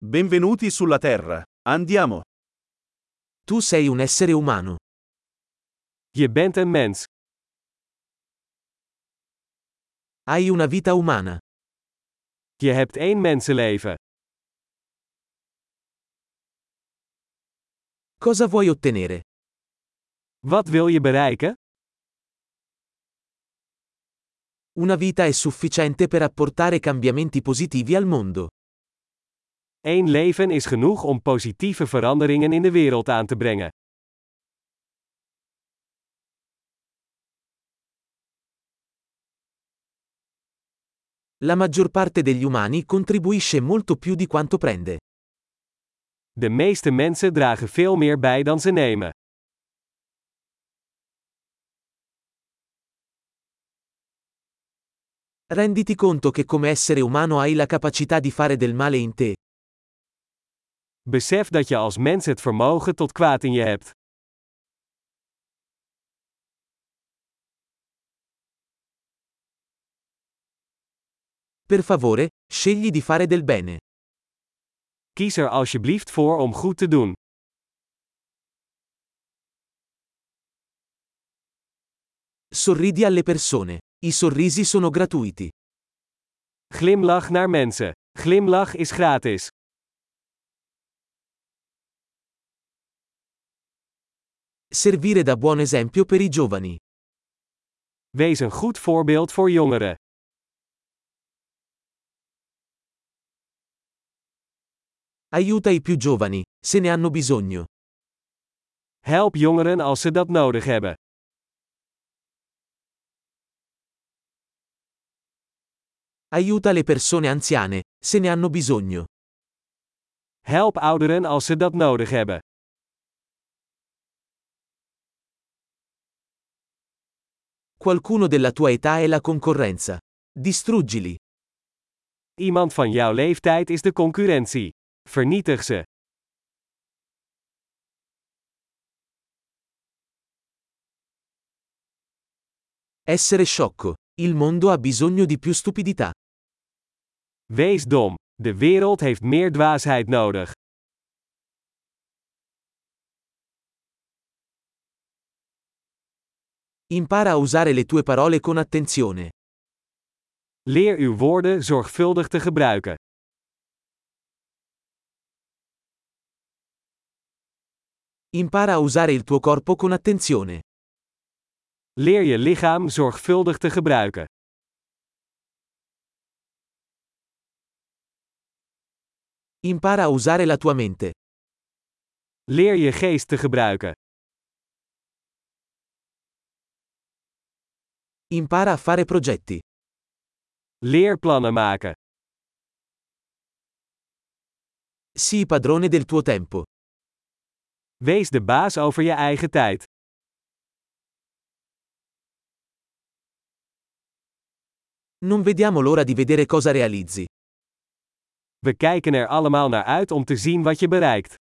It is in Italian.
Benvenuti sulla Terra. Andiamo. Tu sei un essere umano. Je bent een mens. Hai una vita umana. Je hebt één mensenleven. Cosa vuoi ottenere? Wat wil je bereiken? Una vita è sufficiente per apportare cambiamenti positivi al mondo. Eén leven is genoeg om positieve veranderingen in de wereld aan te brengen. La maggior parte degli umani contribuisce molto più di quanto prende. De meeste mensen dragen veel meer bij dan ze nemen. Renditi conto che come essere umano hai la capacità di fare del male in te. Besef dat je als mens het vermogen tot kwaad in je hebt. Per favore, scegli di fare del bene. Kies er alsjeblieft voor om goed te doen. Sorridi alle persone. I sorrisi sono gratuiti. Glimlach naar mensen. Glimlach is gratis. Servire da buon esempio per i giovani. Wees een goed voorbeeld voor jongeren. Aiuta i più giovani, se ne hanno bisogno. Help jongeren als ze dat nodig hebben. Aiuta le persone anziane, se ne hanno bisogno. Help ouderen als ze dat nodig hebben. Qualcuno della tua età è la concorrenza. Distruggili. Iemand van jouw leeftijd is de concurrentie. Vernietig ze. Essere sciocco. Il mondo ha bisogno di più stupidità. Wees dom. De wereld heeft meer dwaasheid nodig. Impara a usare le tue parole con attenzione. Leer uw woorden zorgvuldig te gebruiken. Impara a usare il tuo corpo con attenzione. Leer je lichaam zorgvuldig te gebruiken. Impara a usare la tua mente. Leer je geest te gebruiken. Impara a fare progetti. Leer plannen maken. Sii padrone del tuo tempo. Wees de baas over je eigen tijd. Non vediamo l'ora di vedere cosa realizzi. We kijken er allemaal naar uit om te zien wat je bereikt.